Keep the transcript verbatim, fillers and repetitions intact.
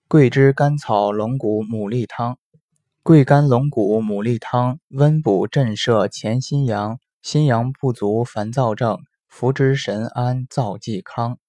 桂枝甘草龙骨牡蛎汤。桂甘龙骨牡蛎汤温补震摄潜心阳，心阳不足烦躁症，服之神安燥剂康。